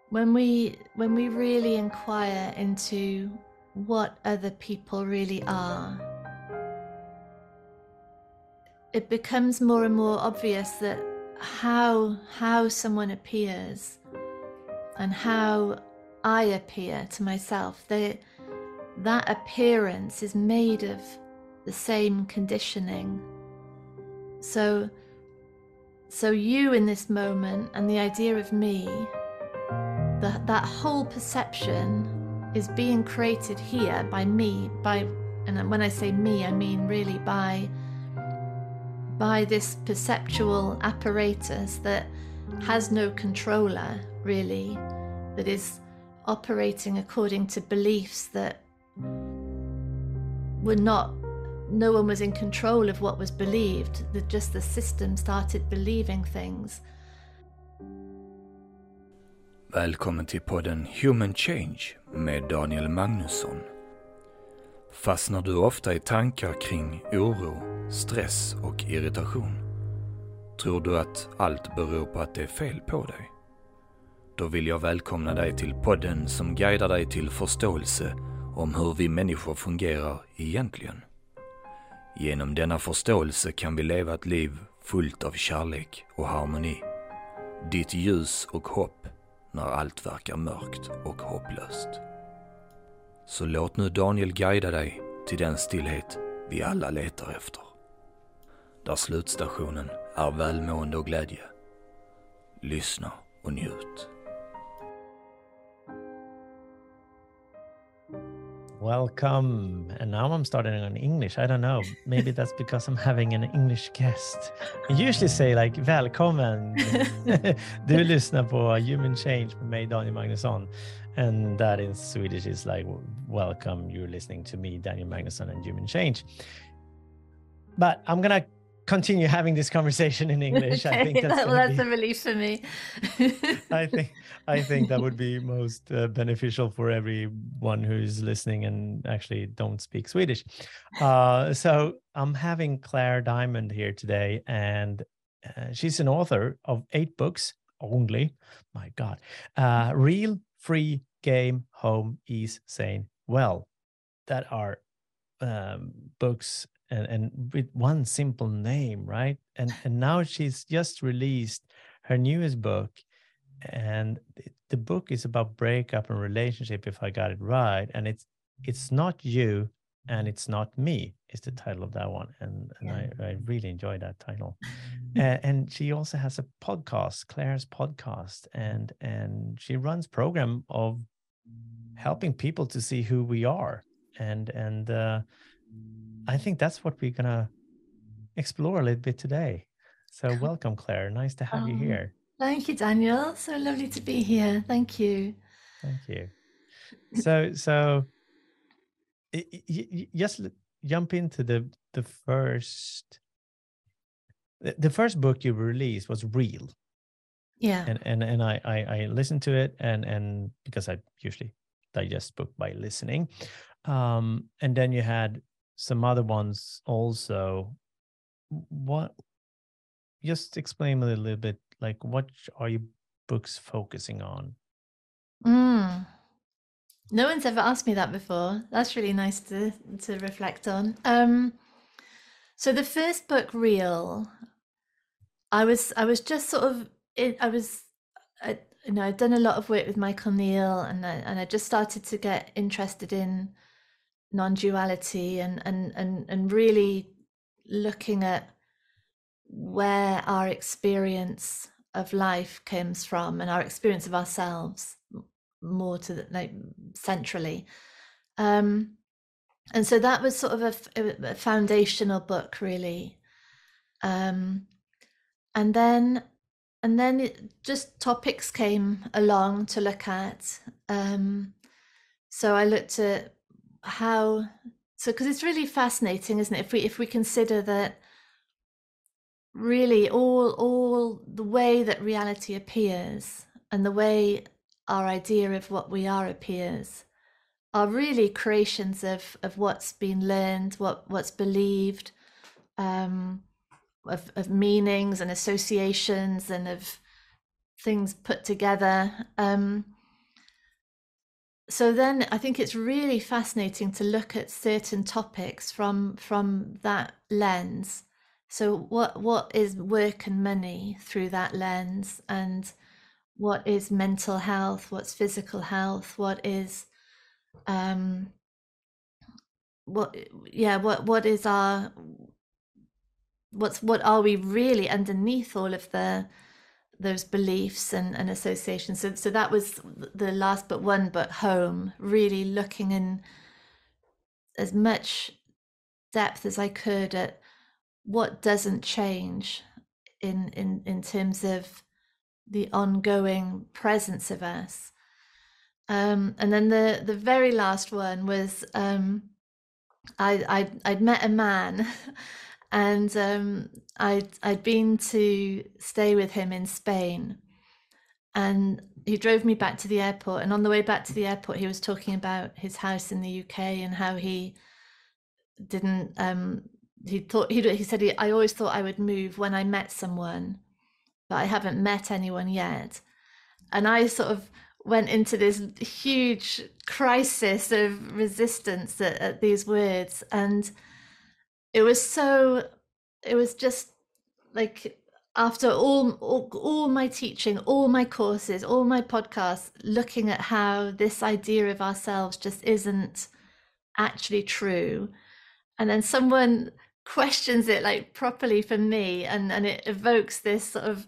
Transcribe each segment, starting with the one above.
when we really inquire into what other people really are, it becomes more and more obvious that how someone appears and how I appear to myself, that appearance is made of the same conditioning. So you in this moment and the idea of me, that whole perception is being created here by me, and when I say me, I mean really by this perceptual apparatus that has no controller, really, that is operating according to beliefs that were not, no one was in control of what was believed, that just the system started believing things. Välkommen till podden Human Change med Daniel Magnusson. Fastnar du ofta i tankar kring oro, stress och irritation? Tror du att allt beror på att det är fel på dig? Då vill jag välkomna dig till podden som guidar dig till förståelse om hur vi människor fungerar egentligen. Genom denna förståelse kan vi leva ett liv fullt av kärlek och harmoni. Ditt ljus och hopp när allt verkar mörkt och hopplöst. Så låt nu Daniel guida dig till den stillhet vi alla letar efter. Där slutstationen är välmående och glädje. Lyssna och njut. Welcome. And now I'm starting in English. I don't know. Maybe that's because I'm having an English guest. I usually say like välkommen. Du lyssnar på Human Change med mig, Daniel Magnusson. And that in Swedish is like welcome. You're listening to me, Daniel Magnusson, and Human Change. But I'm going to continue having this conversation in English. Okay, I think that's a relief for me. I think that would be most beneficial for everyone who's listening and actually don't speak Swedish. So I'm having Claire Diamond here today, and she's an author of 8 books only. My God. Real, Free, Game, Home, Ease, Sane, Well. That are books and with one simple name, right? And now she's just released her newest book, and the book is about breakup and relationship, if I got it right. And it's not you and it's not me is the title of that one, and I really enjoyed that title. And she also has a podcast, Claire's podcast, and she runs program of helping people to see who we are, and I think that's what we're gonna explore a little bit today. So welcome, Claire. Nice to have you here. Thank you, Daniel. So lovely to be here. Thank you. Thank you. So just jump into the first. The first book you released was Real. Yeah. And I listened to it and because I usually digest book by listening. And then you had some other ones also. What? Just explain a little bit, like what are your books focusing on? No one's ever asked me that before. That's really nice to reflect on. So the first book, Real, I was just sort of I'd done a lot of work with Michael Neill, and I just started to get interested in non-duality and really looking at where our experience of life comes from and our experience of ourselves more to like centrally. And so that was sort of a foundational book, really. And then just topics came along to look at. So I looked at because it's really fascinating, isn't it? If we consider that really all the way that reality appears and the way our idea of what we are appears are really creations of what's been learned, what's believed, of meanings and associations and of things put together. so then I think it's really fascinating to look at certain topics from that lens. So what is work and money through that lens, and what is mental health, what's physical health, what is what is our what are we really underneath all of those beliefs and associations. So that was the last but one, but home, really looking in as much depth as I could at what doesn't change in terms of the ongoing presence of us. And then the very last one was I'd met a man and I'd been to stay with him in Spain, and he drove me back to the airport, and on the way back to the airport he was talking about his house in the UK and how he didn't he said I always thought I would move when I met someone, but I haven't met anyone yet. And I sort of went into this huge crisis of resistance at these words, and it was just like, after all my teaching, all my courses, all my podcasts, looking at how this idea of ourselves just isn't actually true, and then someone questions it like properly for me, and it evokes this sort of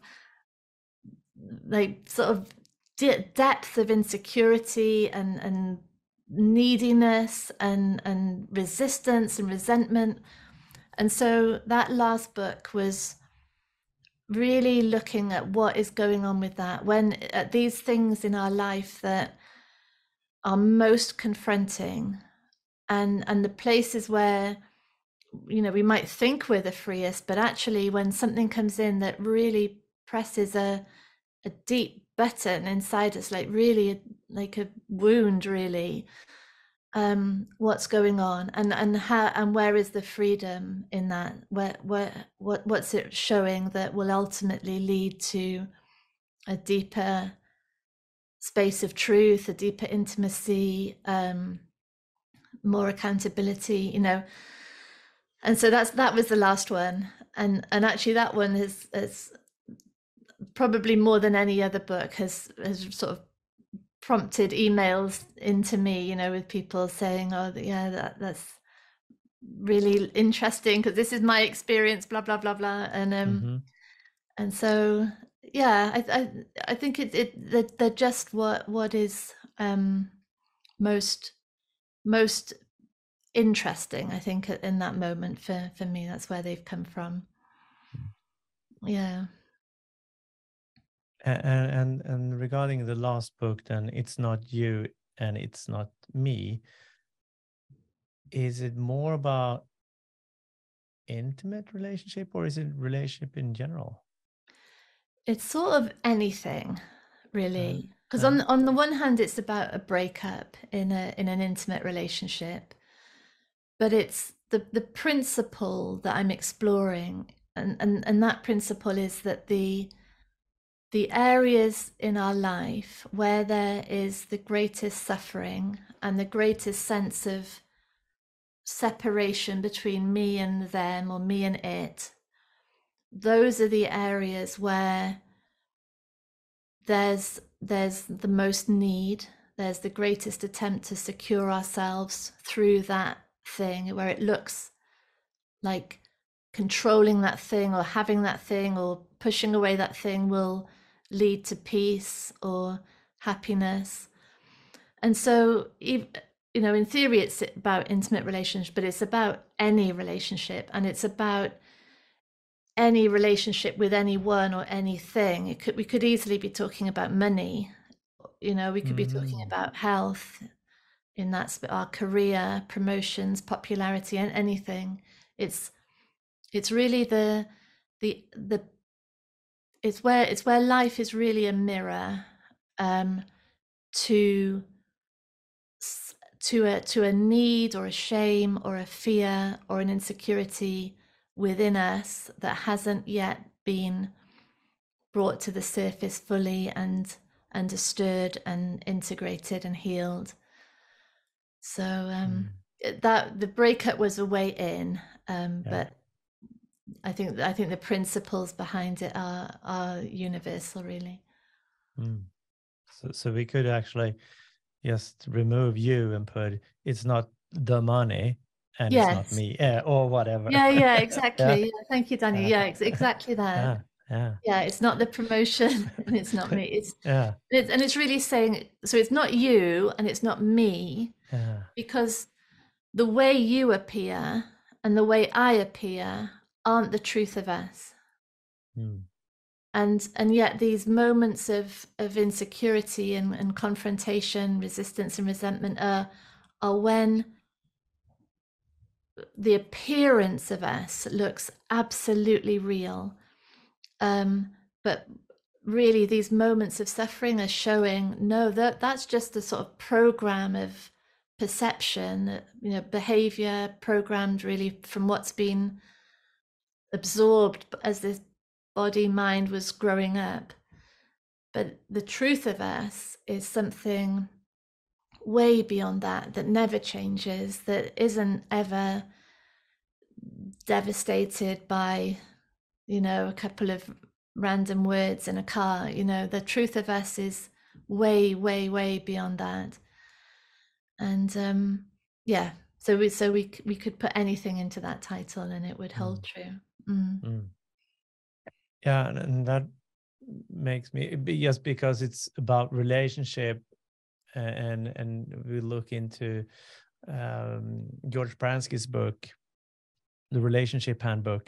depth of insecurity and neediness and resistance and resentment. And so that last book was really looking at what is going on with that, when at these things in our life that are most confronting, and the places where, you know, we might think we're the freest, but actually when something comes in that really presses a deep button inside us, like really like a wound, really, what's going on, and how, and where is the freedom in that, what's it showing that will ultimately lead to a deeper space of truth, a deeper intimacy, more accountability, you know. And so that was the last one, and actually that one has probably more than any other book has sort of prompted emails into me, you know, with people saying, oh yeah, that's really interesting because this is my experience, blah blah blah blah. And and so yeah, I think they're just what is most interesting, I think, in that moment for me. That's where they've come from. Yeah. And regarding the last book, then, It's Not You and It's Not Me, is it more about intimate relationship, or is it relationship in general? It's sort of anything, really, because on the one hand it's about a breakup in an intimate relationship, but it's the principle that I'm exploring, and that principle is that the areas in our life where there is the greatest suffering and the greatest sense of separation between me and them, or me and it, those are the areas where there's the most need, there's the greatest attempt to secure ourselves through that thing, where it looks like controlling that thing or having that thing or pushing away that thing will lead to peace or happiness. And so, you know, in theory it's about intimate relationships, but it's about any relationship, and it's about any relationship with anyone or anything. We could easily be talking about money, you know, we could be talking about health, in that our career, promotions, popularity, and anything. It's really it's where life is really a mirror to a need or a shame or a fear or an insecurity within us that hasn't yet been brought to the surface fully and understood and integrated and healed. So that the breakup was a way in, but I think the principles behind it are universal, really. So we could actually just remove you and put it's not the money and it's not me, or whatever. Yeah, exactly. Yeah, thank you, Daniel. Yeah, exactly that. Yeah, it's not the promotion and it's not me. It's and it's really saying, so it's not you and it's not me, because the way you appear and the way I appear aren't the truth of us. And yet these moments of insecurity and confrontation, resistance and resentment are when the appearance of us looks absolutely real. But really these moments of suffering are showing, no, that's just a sort of program of perception, behavior programmed really from what's been absorbed as this body mind was growing up. But the truth of us is something way beyond that never changes, that isn't ever devastated by, a couple of random words in a car. The truth of us is way, way, way beyond that. And so we could put anything into that title and it would hold true. Yeah, and that makes me, just because it's about relationship, and we look into George Pransky's book, The Relationship Handbook,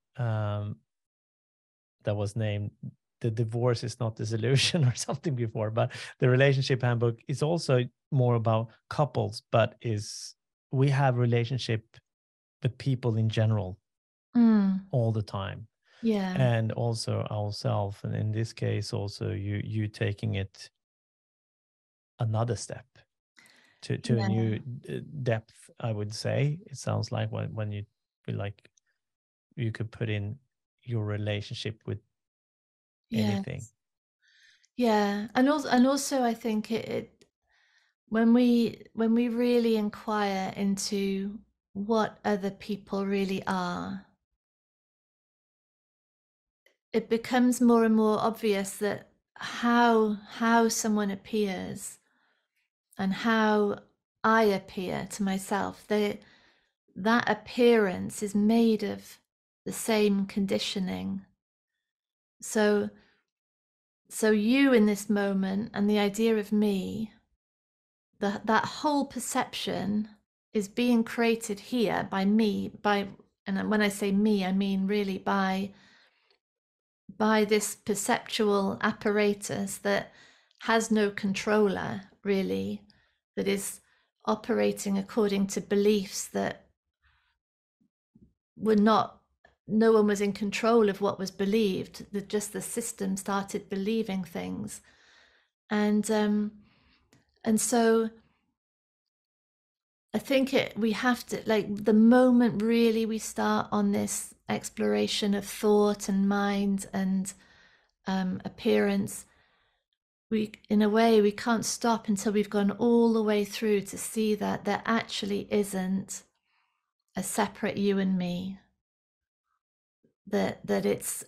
that was named The Divorce is Not the Solution or something before, but the Relationship Handbook is also more about couples, but we have relationship with people in general all the time. Yeah. And also ourselves, and in this case also you taking it another step to a new depth, I would say. It sounds like when you feel like you could put in your relationship with anything. Yeah, and also I think it when we really inquire into what other people really are, it becomes more and more obvious that how someone appears and how I appear to myself, that appearance is made of the same conditioning. So you in this moment and the idea of me, that whole perception is being created here by me, and when I say me, I mean really by this perceptual apparatus that has no controller, really, that is operating according to beliefs that were not, no one was in control of what was believed, that just the system started believing things. And so I think we have to, like, the moment really we start on this exploration of thought and mind and appearance, in a way, we can't stop until we've gone all the way through to see that there actually isn't a separate you and me, that it's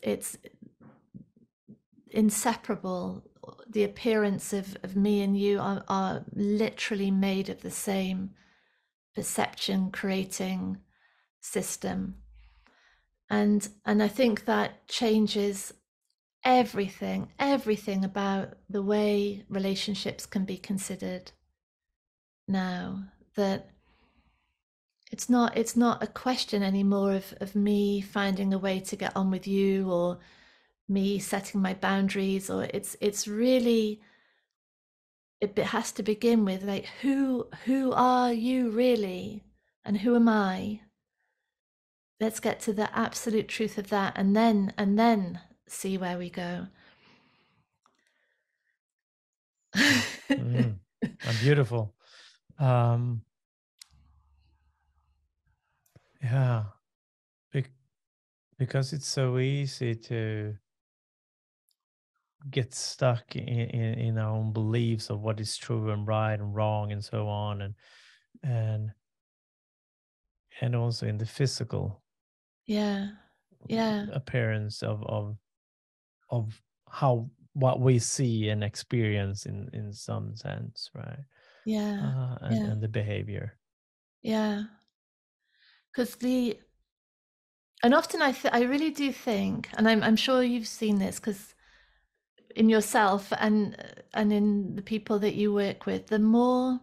inseparable. The appearance of me and you are literally made of the same perception creating system. And I think that changes everything about the way relationships can be considered now. That it's not a question anymore of me finding a way to get on with you, or me setting my boundaries, or it's really, it has to begin with, like, who are you really and who am I? Let's get to the absolute truth of that, and then see where we go. Beautiful. Yeah, because it's so easy to get stuck in our own beliefs of what is true and right and wrong and so on, and also in the physical Yeah. appearance of how what we see and experience in some sense, right? Yeah. And the behavior. Yeah. Because and often I really do think, and I'm sure you've seen this, because in yourself and in the people that you work with, the more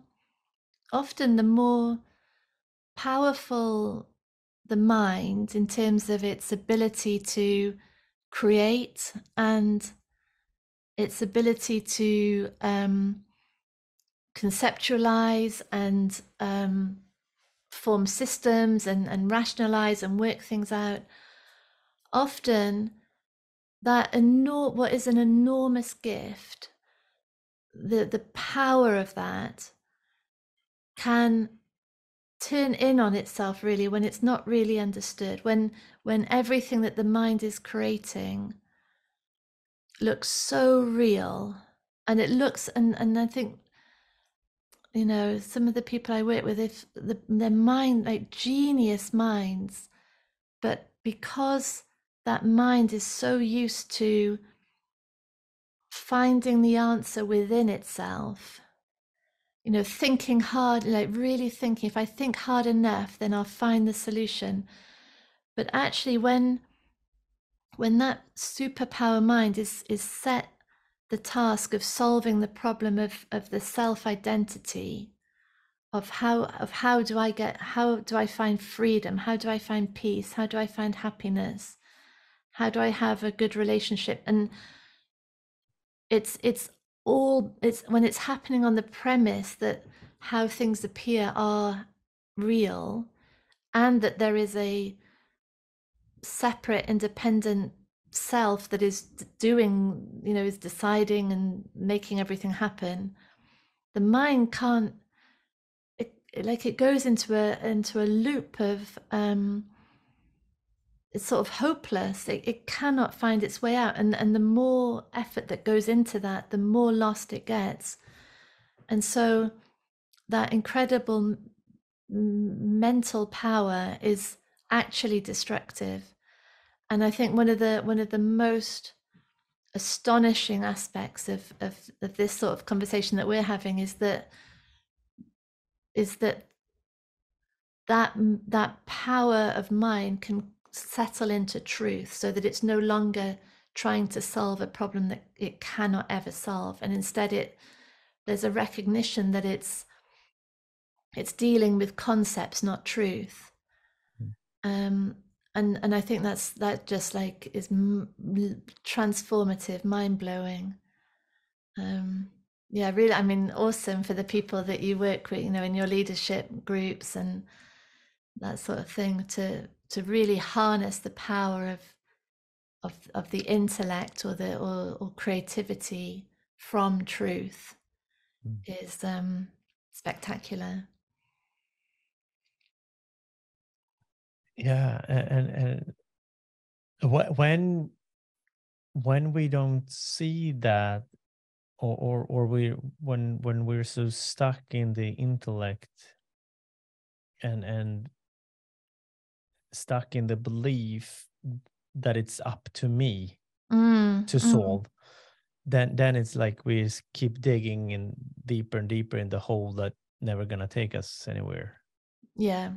powerful the mind in terms of its ability to create and its ability to conceptualize and form systems and rationalize and work things out. Often that what is an enormous gift, the power of that can turn in on itself really when it's not really understood, when everything that the mind is creating looks so real, and it looks, and I think, you know, some of the people I work with, if their mind, like genius minds, but because that mind is so used to finding the answer within itself, you know, thinking hard, like really thinking, if I think hard enough, then I'll find the solution. But actually, when that superpower mind is set the task of solving the problem of the self-identity, of how do I find freedom, how do I find peace, how do I find happiness, how do I have a good relationship, and it's when it's happening on the premise that how things appear are real, and that there is a separate independent self that is doing, you know, is deciding and making everything happen. The mind can't, it goes into a loop of it's sort of hopeless. It cannot find its way out, and the more effort that goes into that, the more lost it gets. And so that incredible mental power is actually destructive. And I think one of the most astonishing aspects of this sort of conversation that we're having is that that power of mind can settle into truth, so that it's no longer trying to solve a problem that it cannot ever solve, and instead there's a recognition that it's dealing with concepts, not truth. And I think that just like is transformative, mind-blowing. Yeah, really, I mean, awesome for the people that you work with, you know, in your leadership groups and that sort of thing, to really harness the power of the intellect or creativity from truth is spectacular. Yeah, and when we don't see that, or we when we're so stuck in the intellect and stuck in the belief that it's up to me to solve, then it's like we just keep digging in deeper and deeper in the hole that never gonna take us anywhere. Yeah.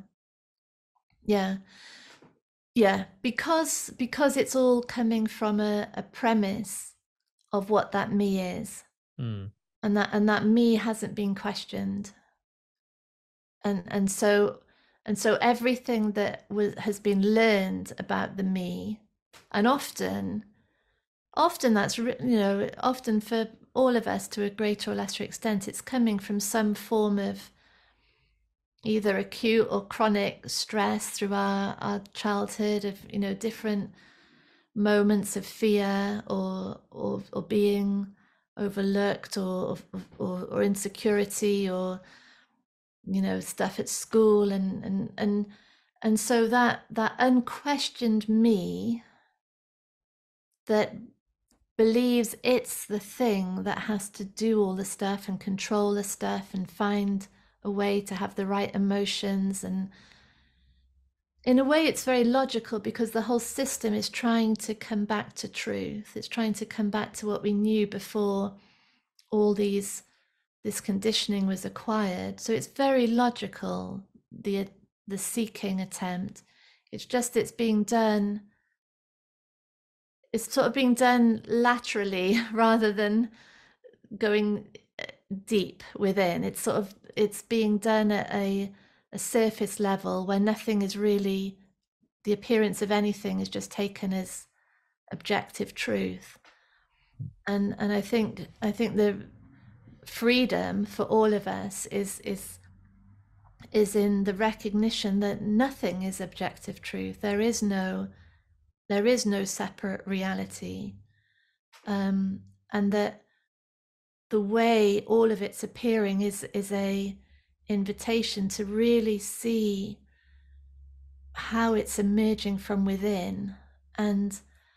Because it's all coming from a premise of what that me is, and that me hasn't been questioned, and so everything that has been learned about the me, and often that's, you know, often for all of us to a greater or lesser extent, it's coming from some form of either acute or chronic stress through our childhood, of, you know, different moments of fear or being overlooked or insecurity, or, you know, stuff at school, and so that unquestioned me that believes it's the thing that has to do all the stuff and control the stuff and find a way to have the right emotions. And in a way, it's very logical because the whole system is trying to come back to truth. It's trying to come back to what we knew before all this conditioning was acquired. So it's very logical, the seeking attempt. It's just it's sort of being done laterally rather than going deep within. It's being done at a surface level where nothing is really, the appearance of anything is just taken as objective truth. And I think the freedom for all of us is in the recognition that nothing is objective truth. There is no separate reality, and that the way all of it's appearing is a invitation to really see how it's emerging from within, and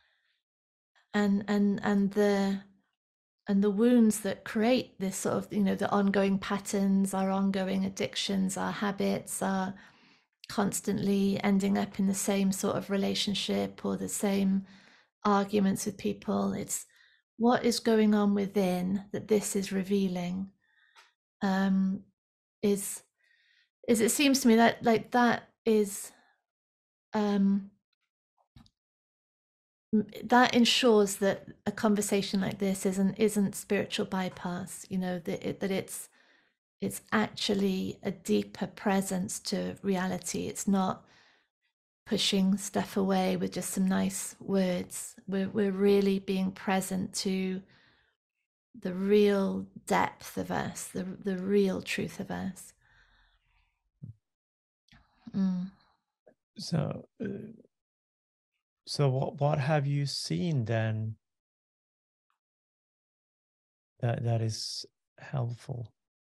the wounds that create this sort of, the ongoing patterns, our ongoing addictions, our habits, are constantly ending up in the same sort of relationship or the same arguments with people. It's what is going on within that this is revealing. Is it seems to me that that is that ensures that a conversation like this isn't spiritual bypass, that it's actually a deeper presence to reality. It's not pushing stuff away with just some nice words. We're really being present to the real depth of us, the real truth of us. So what have you seen then that is helpful?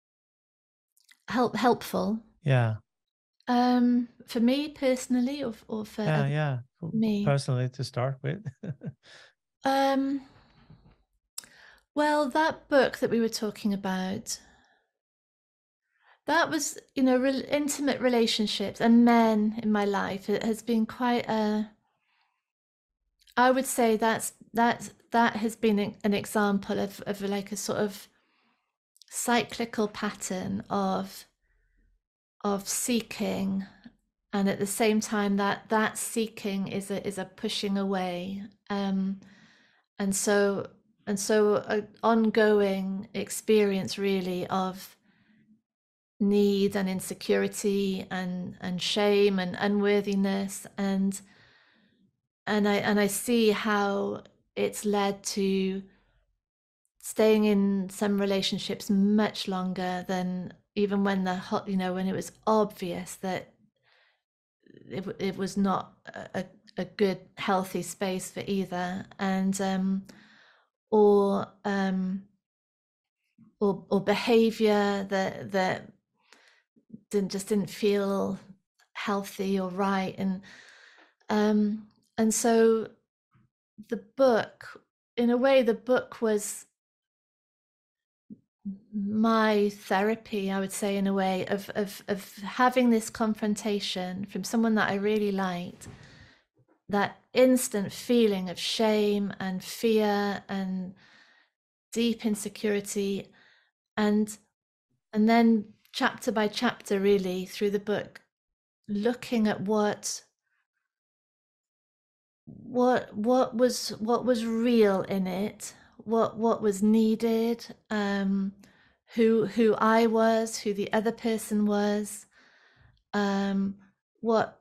Helpful? Yeah. For me personally, or for me personally, to start with. Well, that book that we were talking about, that was, intimate relationships and men in my life. It has been quite I would say that has been an example of like a sort of cyclical pattern of seeking, and at the same time that seeking is a pushing away, and so an ongoing experience really of need and insecurity and shame and unworthiness, and I see how it's led to staying in some relationships much longer than even when when it was obvious that it was not a good, healthy space for either, and or behavior that didn't feel healthy or right, and so the book, in a way, the book was my therapy, I would say, in a way, of having this confrontation from someone that I really liked, that instant feeling of shame and fear and deep insecurity, and then chapter by chapter, really through the book, looking at what was real in it, what was needed, who I was, who the other person was, what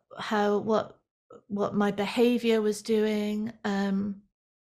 my behavior was doing, and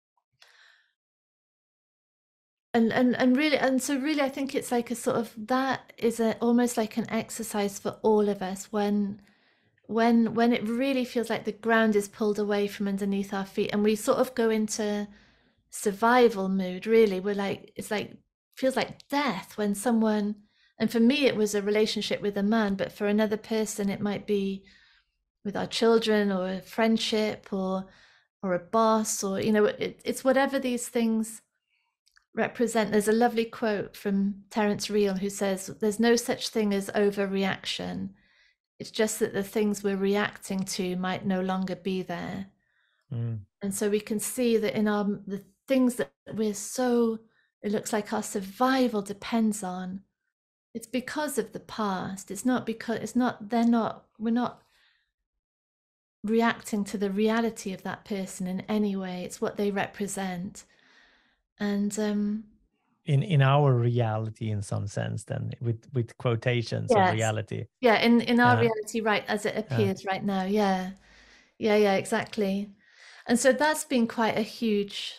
so really I think it's like a sort of, that is almost like an exercise for all of us when it really feels like the ground is pulled away from underneath our feet and we sort of go into survival mood. Really, we're like, it's like, feels like death when someone, and for me it was a relationship with a man, but for another person it might be with our children or a friendship or a boss, or it's whatever these things represent. There's a lovely quote from Terence Real who says, "There's no such thing as overreaction. It's just that the things we're reacting to might no longer be there." And so we can see that in the things that it looks like our survival depends on, it's because of the past. We're not reacting to the reality of that person in any way. It's what they represent. And in our reality, in some sense, then with quotations of reality. Yeah, in our reality, right, as it appears right now. Yeah, exactly. And so that's been quite a huge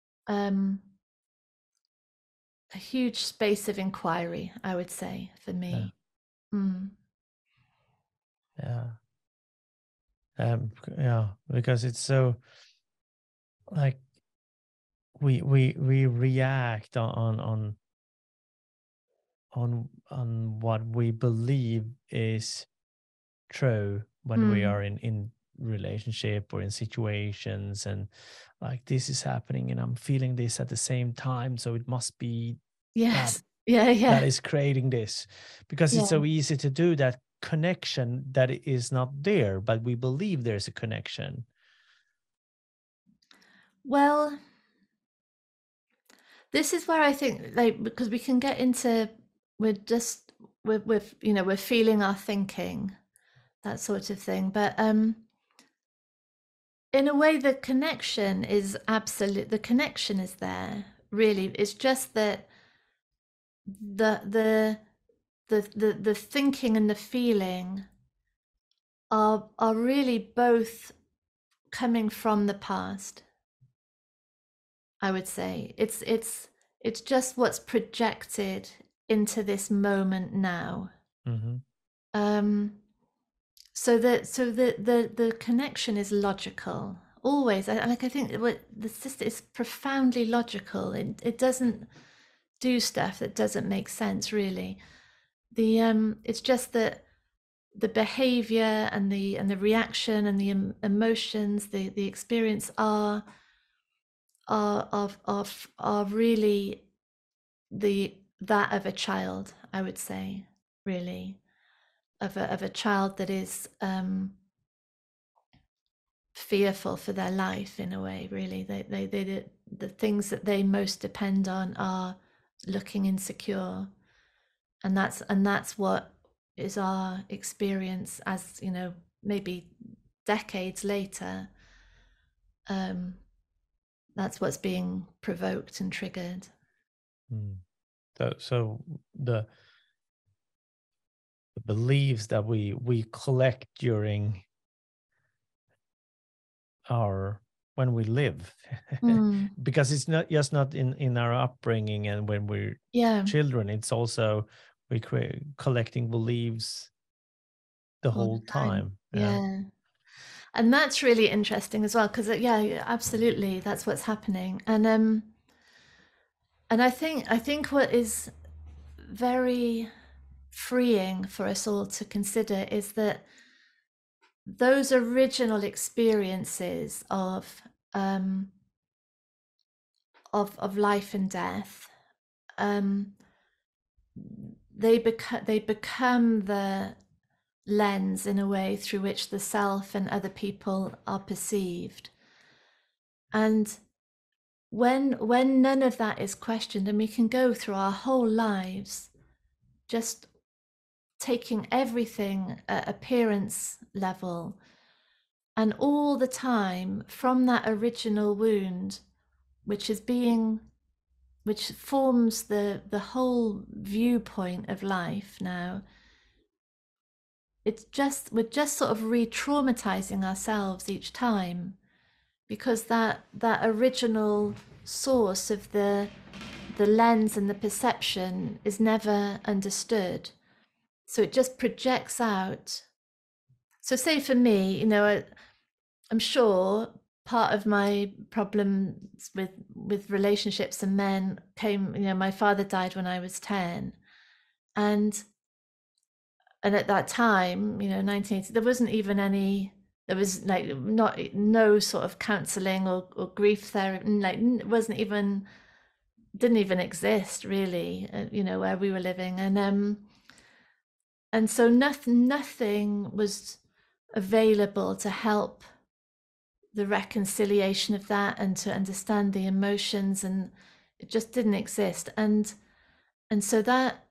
space of inquiry, I would say, for me. Because it's so like we react on what we believe is true when we are in relationship or in situations, and like, this is happening and I'm feeling this at the same time, so it must be that is creating this, because it's so easy to do that connection that is not there, but we believe there's a connection. Well, this is where I think, like, because we can get into, we're feeling our thinking, that sort of thing, but in a way the connection is there, really. It's just that the thinking and the feeling are really both coming from the past, I would say. It's just what's projected into this moment now. So the connection is logical always. I think what the sister is profoundly logical. It doesn't do stuff that doesn't make sense, really. It's just that the behavior and the reaction and the emotions, the experience are really that of a child, I would say, really, of a child that is fearful for their life, in a way, really. The things that they most depend on are looking insecure, and that's what is our experience, as maybe decades later. That's what's being provoked and triggered. So the beliefs that we collect during when we live, because it's not just not in our upbringing and when we're children, it's also we collecting beliefs the whole time. And that's really interesting as well, because absolutely, that's what's happening. And I think what is very freeing for us all to consider is that those original experiences of life and death, they become the lens, in a way, through which the self and other people are perceived. And when none of that is questioned, and we can go through our whole lives just taking everything at appearance level, and all the time from that original wound, which forms the whole viewpoint of life now, we're just sort of re-traumatizing ourselves each time, because that original source of the lens and the perception is never understood. So it just projects out. So say for me, I'm sure part of my problems with relationships and men came, my father died when I was 10, and at that time, 1980, there wasn't even there was like no sort of counseling or grief therapy, like it wasn't even didn't even exist really, where we were living. And so nothing was available to help the reconciliation of that and to understand the emotions, and it just didn't exist. And so that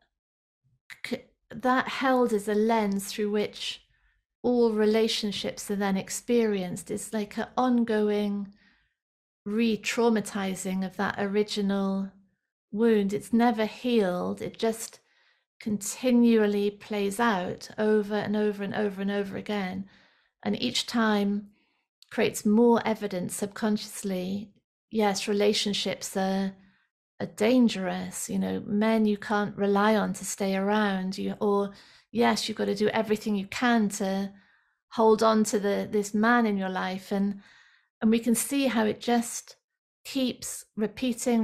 held as a lens through which all relationships are then experienced. It's like an ongoing re-traumatizing of that original wound. It's never healed. It just continually plays out over and over and over and over again, and each time creates more evidence subconsciously. Yes, relationships are dangerous. Men you can't rely on to stay around. Or yes, you've got to do everything you can to hold on to this man in your life, and we can see how it just keeps repeating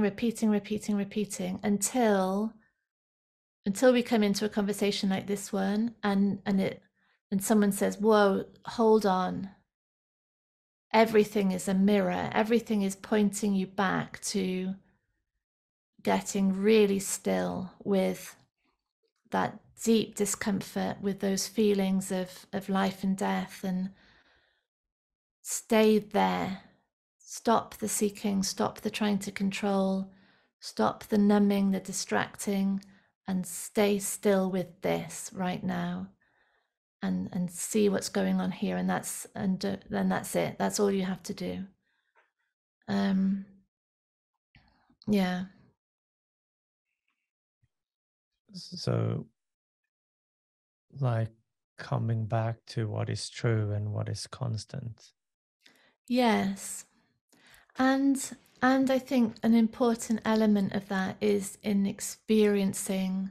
until we come into a conversation like this one, and someone says, whoa, hold on, everything is a mirror, everything is pointing you back to getting really still with that deep discomfort, with those feelings of life and death, and stay there. Stop the seeking, stop the trying to control, stop the numbing, the distracting, and stay still with this right now, and see what's going on here. And then that's it. That's all you have to do. Yeah. So, like, coming back to what is true and what is constant. Yes. And I think an important element of that is in experiencing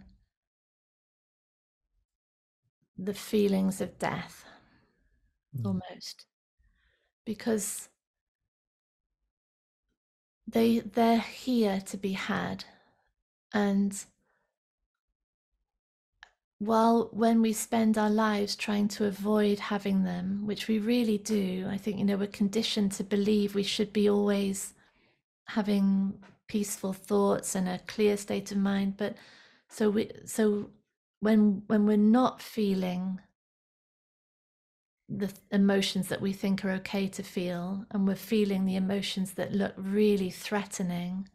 the feelings of death, almost, because they're here to be had. And when we spend our lives trying to avoid having them, which we really do, I think, we're conditioned to believe we should be always having peaceful thoughts and a clear state of mind. But so when we're not feeling the emotions that we think are okay to feel, and we're feeling the emotions that look really threatening,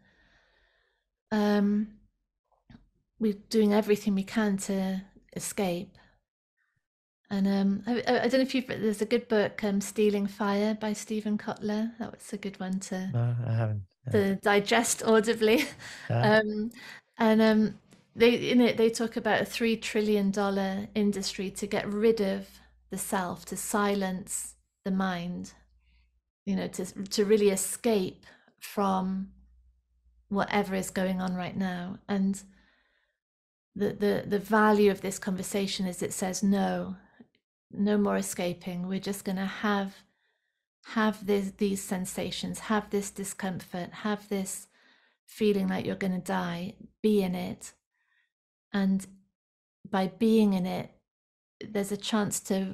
we're doing everything we can to escape. And I don't know if there's a good book, Stealing Fire by Stephen Kotler. That was a good one to No, I haven't. to digest audibly. Yeah. They in it they talk about a $3 trillion industry to get rid of the self, to silence the mind, to really escape from whatever is going on right now. And the value of this conversation is it says no more escaping. We're just going to have these sensations, have this discomfort, have this feeling like you're going to die, be in it. And by being in it, there's a chance for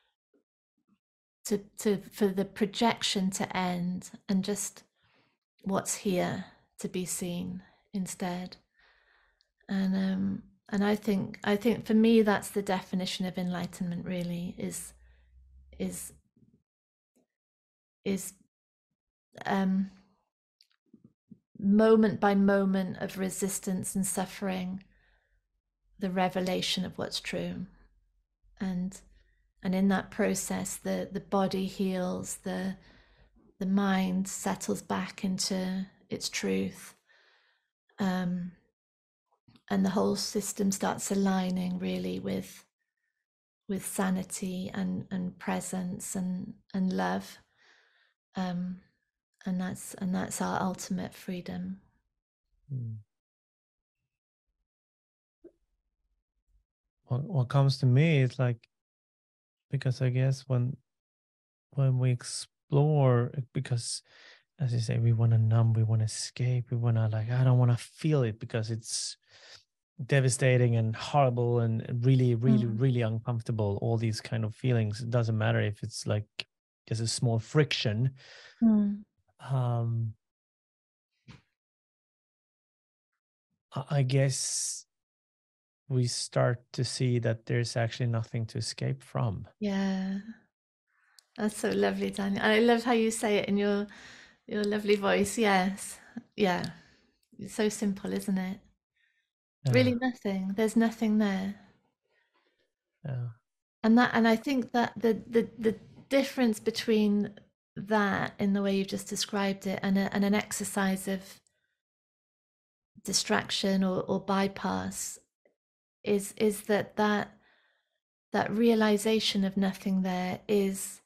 the projection to end, and just what's here to be seen instead. And I think for me that's the definition of enlightenment, really, is moment by moment of resistance and suffering, the revelation of what's true. And in that process, the body heals, the mind settles back into its truth, and the whole system starts aligning really with sanity and presence and love, and that's our ultimate freedom. What comes to me is like, because I guess when we explore, because as you say, we want to numb, we want to escape, we want to, like, I don't want to feel it because it's devastating and horrible and really really uncomfortable, all these kind of feelings. It doesn't matter if it's like just a small friction. I guess we start to see that there's actually nothing to escape from. Yeah. That's so lovely, Daniel. And I love how you say it in your lovely voice. Yes. Yeah. It's so simple, isn't it? Really Yeah, nothing. There's nothing there. yeah. And I think that the difference between that in the way you've just described it and an exercise of distraction or bypass is that realization of nothing there is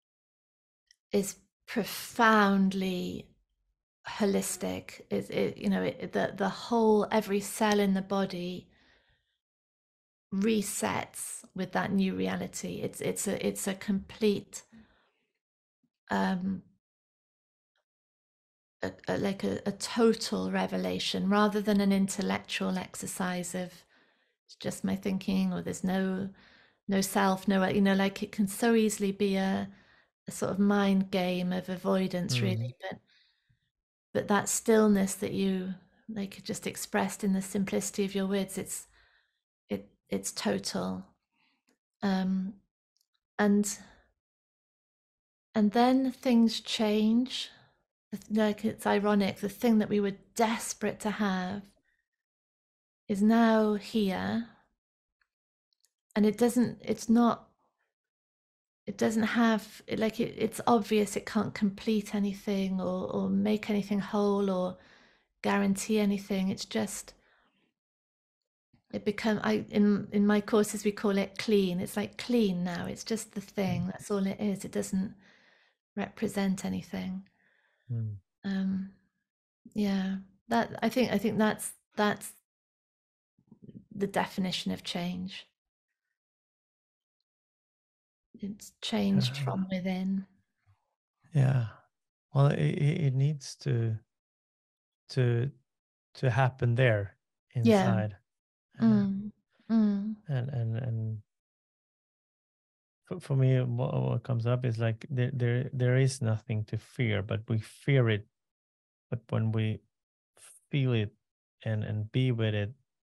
profoundly holistic. The whole, every cell in the body resets with that new reality. It's a complete like a total revelation rather than an intellectual exercise of it's just my thinking, or there's no self, no, like it can so easily be a sort of mind game of avoidance, really. But that stillness that you like just expressed in the simplicity of your words, it's total. And then things change. Like, it's ironic, the thing that we were desperate to have is now here, and it doesn't have, like, it's obvious it can't complete anything or make anything whole or guarantee anything. It's just in my courses we call it clean. It's like clean now. It's just the thing. That's all it is. It doesn't represent anything. Yeah, that I think that's the definition of change. It's changed from within. Yeah. Well, it needs to happen there Yeah. inside. Mm. And for me, what comes up is like there is nothing to fear, but we fear it. But when we feel it and be with it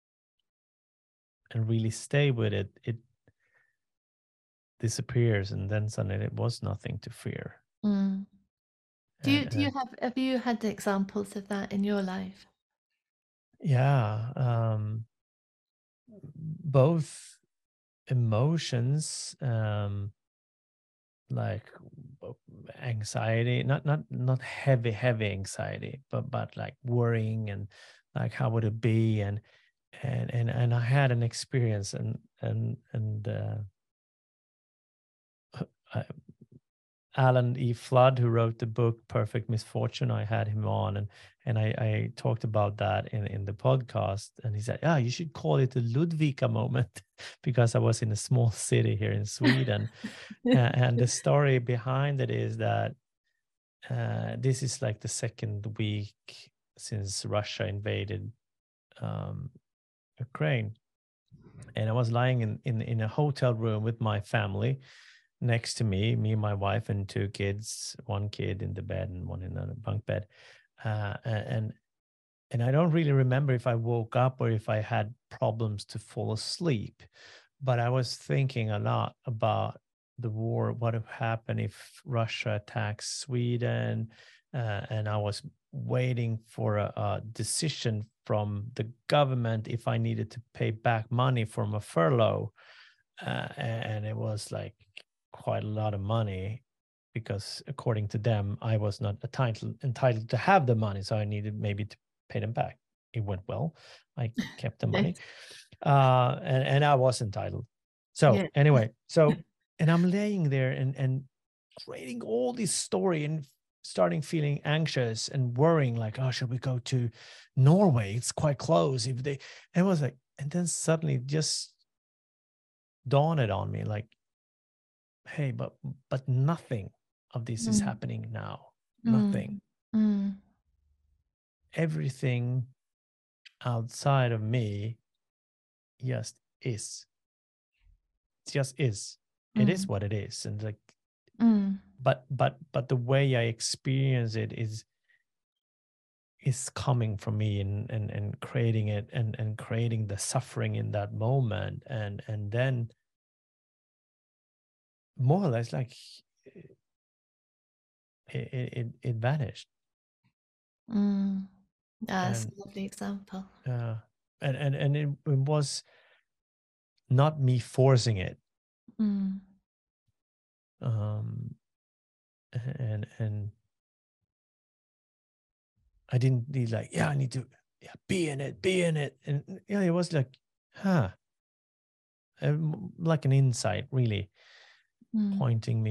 and really stay with it, it disappears, and then suddenly it was nothing to fear. Mm. Do you And have you had examples of that in your life? yeah, both emotions, like anxiety, not heavy anxiety, but like worrying and like how would it be, and I had an experience, and I, Alan E. Flood, who wrote the book Perfect Misfortune, I had him on, and I talked about that in the podcast, and he said, "Yeah, you should call it the Ludvika moment," because I was in a small city here in Sweden, and the story behind it is that this is like the second week since Russia invaded Ukraine, and I was lying in a hotel room with my family. Next to me, my wife, and two kids, one kid in the bed and one in a bunk bed. And I don't really remember if I woke up or if I had problems to fall asleep, but I was thinking a lot about the war, what would happen if Russia attacks Sweden, and I was waiting for a decision from the government if I needed to pay back money from a furlough, and it was like quite a lot of money, because according to them I was not entitled to have the money, so I needed maybe to pay them back. It went well. I kept the money, and I was entitled. So Yeah. anyway, and I'm laying there and creating all this story and starting feeling anxious and worrying, like, oh, should we go to Norway? It's quite close. If they, and it was like, and then suddenly just dawned on me, like, hey, but nothing of this is happening now. Nothing. Everything outside of me just is. It just is. It is what it is. And like, but the way I experience it is is coming from me and creating it and creating the suffering in that moment, and then more or less like it vanished. That's And a lovely example. and it was not me forcing it. And I didn't need like, I need to be in it. And it was like, like an insight, really pointing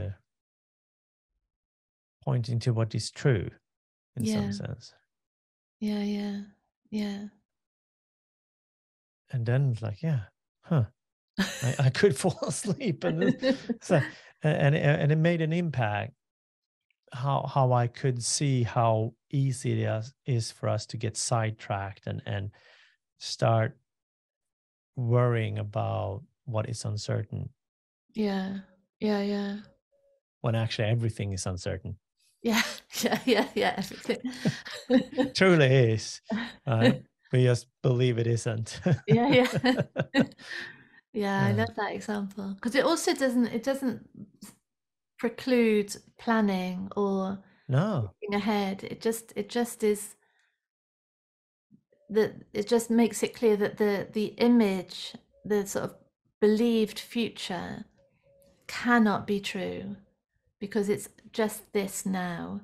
to what is true in some sense. Yeah. And then it's like, I could fall asleep, and so and it made an impact. How I could see how easy it is for us to get sidetracked and start worrying about what is uncertain. Yeah. When actually everything is uncertain. Yeah. Everything. Truly is. We just believe it isn't. Yeah. I love that example, because it also doesn't preclude planning or looking ahead. It just is that it just makes it clear that the image, the sort of believed future, cannot be true because it's just this now.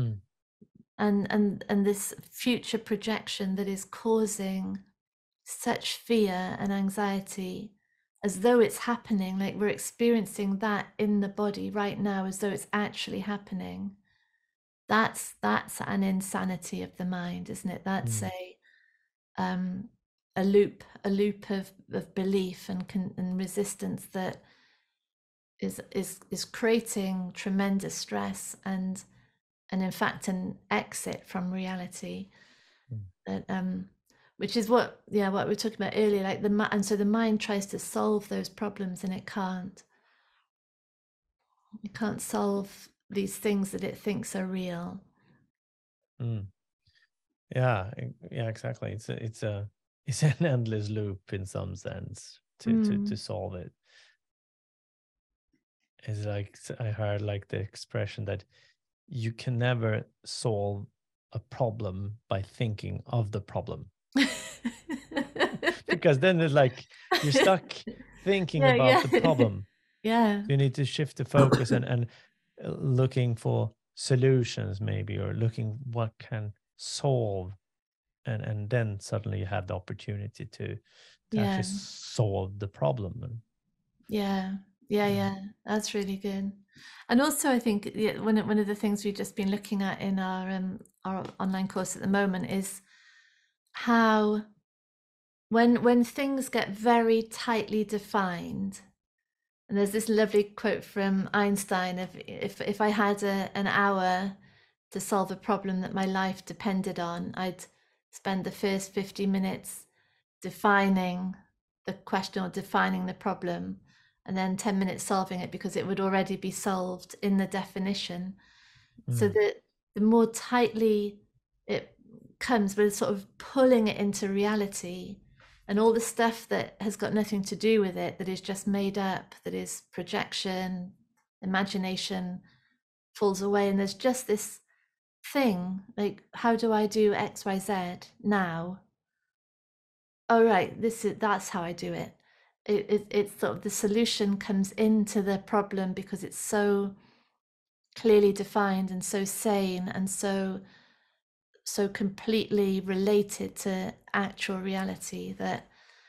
And this future projection that is causing such fear and anxiety, as though it's happening, like we're experiencing that in the body right now, as though it's actually happening. That's an insanity of the mind, isn't it? That's a loop of belief and resistance that is creating tremendous stress and in fact an exit from reality. That which is what we were talking about earlier, like and so the mind tries to solve those problems and it can't solve these things that it thinks are real. Yeah, exactly. It's an endless loop in some sense to solve it. It's like, I heard like the expression that you can never solve a problem by thinking of the problem. Because then it's like you're stuck thinking about the problem. So you need to shift the focus and looking for solutions maybe, or looking what can solve, and then suddenly you have the opportunity to actually solve the problem. Yeah, that's really good. And also I think one of the things we've just been looking at in our online course at the moment is how when things get very tightly defined, and there's this lovely quote from Einstein of if I had an hour to solve a problem that my life depended on, I'd spend the first 50 minutes defining the question or defining the problem, and then 10 minutes solving it because it would already be solved in the definition. So that the more tightly it comes, we're sort of pulling it into reality, and all the stuff that has got nothing to do with it, that is just made up, that is projection, imagination, falls away. And there's just this thing like, how do I do XYZ now? Oh right, that's how I do it. It's sort of the solution comes into the problem because it's so clearly defined and so sane and so completely related to actual reality that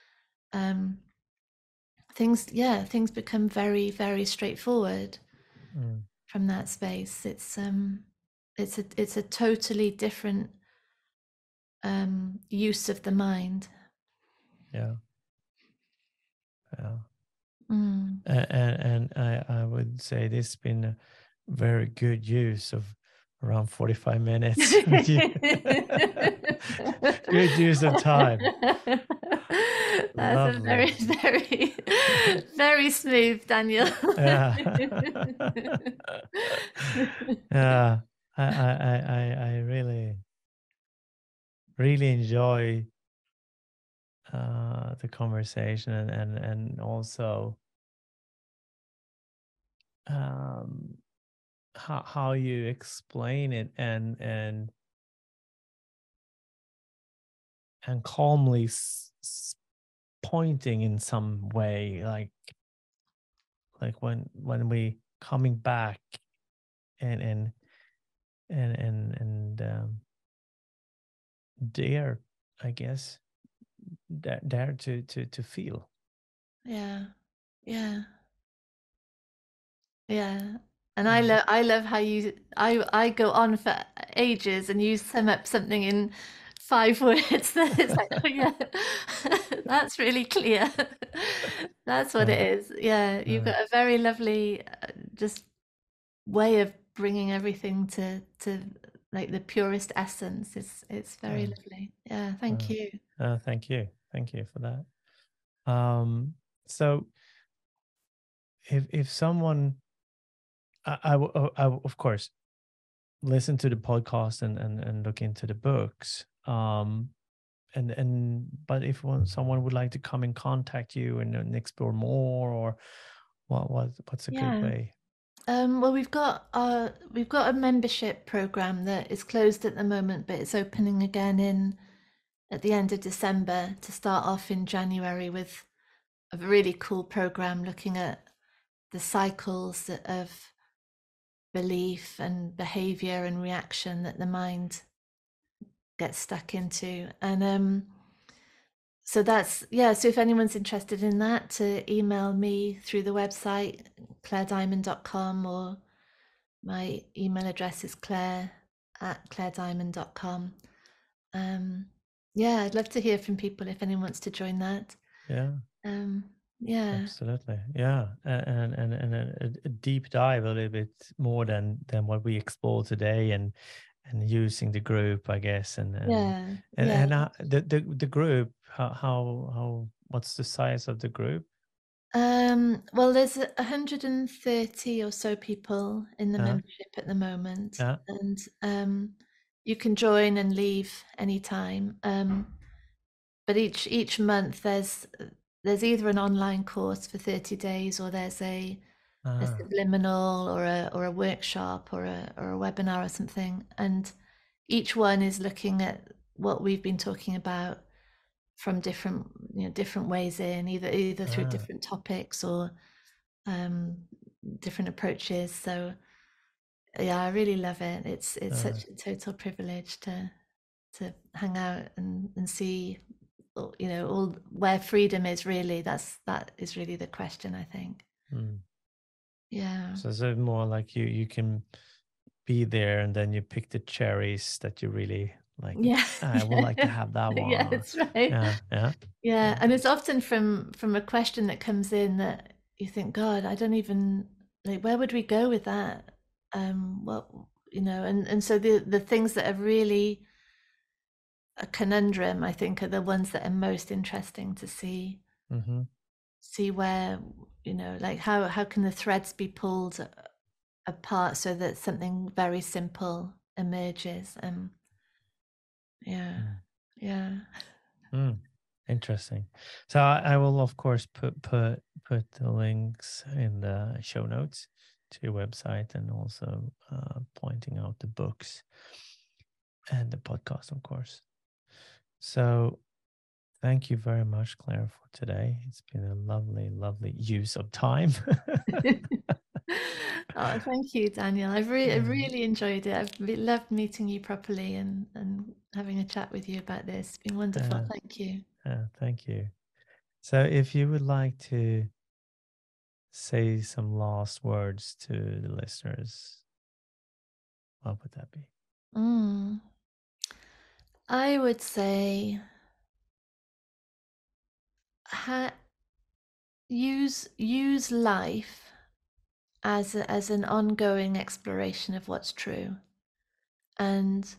things become very, very straightforward from that space. It's a totally different use of the mind. And I would say this has been a very good use of around 45 minutes. Good use of time. That's a very, very, very smooth, Daniel. Yeah. I really really enjoy the conversation and also how you explain it and calmly pointing in some way, like when we coming back and dare, I guess, dare to feel. Yeah. And I love how I go on for ages and you sum up something in 5 words. It's like, oh yeah, that's really clear. That's what it is. Yeah, you've got a very lovely just way of bringing everything to like the purest essence. It's very lovely. Yeah, thank you. Thank you for that. So if someone, I of course listen to the podcast and look into the books, and but if someone would like to come and contact you and explore more, or what's a good way? Well, we've got a membership program that is closed at the moment, but it's opening again at the end of December to start off in January with a really cool program looking at the cycles of belief and behavior and reaction that the mind gets stuck into. And so that's, so if anyone's interested in that, to email me through the website clairediamond.com, or my email address is claire@clairediamond.com. I'd love to hear from people if anyone wants to join that. Absolutely. And a deep dive a little bit more than what we explored today, and using the group, I guess, and the group, how what's the size of the group? Well, there's 130 or so people in the membership at the moment, and you can join and leave anytime. But each month there's either an online course for 30 days, or there's a subliminal, or a workshop, or a webinar or something, and each one is looking at what we've been talking about from different ways in, either through different topics or different approaches. So I really love it. It's such a total privilege to hang out and see, all where freedom is really. That is really the question, I think. So it's more like you can be there and then you pick the cherries that you really like. I would like to have that one. Yeah, that's right. And it's often from a question that comes in that you think, God, I don't even, like, where would we go with that? And so the things that are really a conundrum, I think, are the ones that are most interesting to see. See where, like how can the threads be pulled apart so that something very simple emerges. Interesting. So I will of course put the links in the show notes to your website, and also pointing out the books and the podcast, of course. So thank you very much, Claire, for today. It's been a lovely use of time. Oh, thank you, Daniel. I've really enjoyed it. I've loved meeting you properly and having a chat with you about this. It's been wonderful. Thank you. Thank you. So if you would like to say some last words to the listeners, what would that be? I would say use life as an ongoing exploration of what's true, and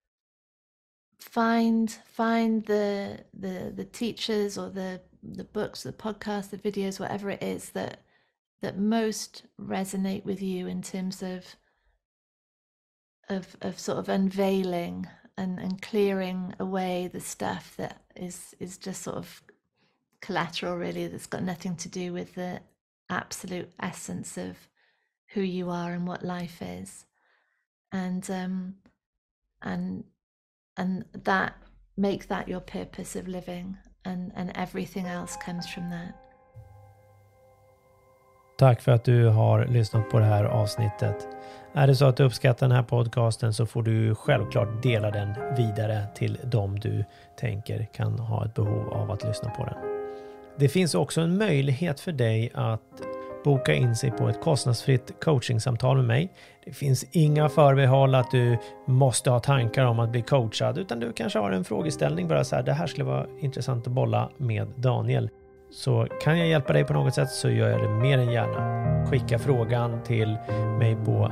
find the teachers, or the books, the podcasts, the videos, whatever it is that most resonate with you in terms of sort of unveiling and clearing away the stuff that is just sort of collateral, really, that's got nothing to do with the absolute essence of who you are and what life is, and that make that your purpose of living, and everything else comes from that. Tack för att du har lyssnat på det här avsnittet. Är det så att du uppskattar den här podcasten så får du självklart dela den vidare till dem du tänker kan ha ett behov av att lyssna på den. Det finns också en möjlighet för dig att boka in sig på ett kostnadsfritt coachingsamtal med mig. Det finns inga förbehåll att du måste ha tankar om att bli coachad, utan du kanske har en frågeställning bara så här: det här skulle vara intressant att bolla med Daniel. Så kan jag hjälpa dig på något sätt så gör jag det mer än gärna. Skicka frågan till mig på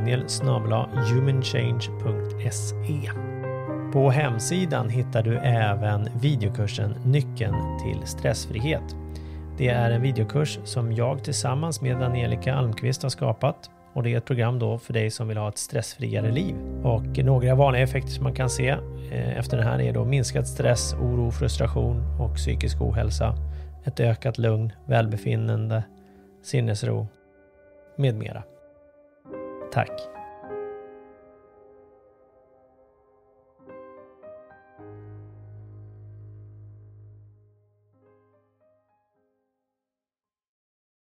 daniel@humanchange.se. På hemsidan hittar du även videokursen Nyckeln till stressfrihet. Det är en videokurs som jag tillsammans med Angelica Almqvist har skapat, och det är ett program då för dig som vill ha ett stressfriare liv. Och några vanliga effekter som man kan se efter den här är då minskad stress, oro, frustration och psykisk ohälsa, ett ökat lugn, välbefinnande, sinnesro med mera. Tack!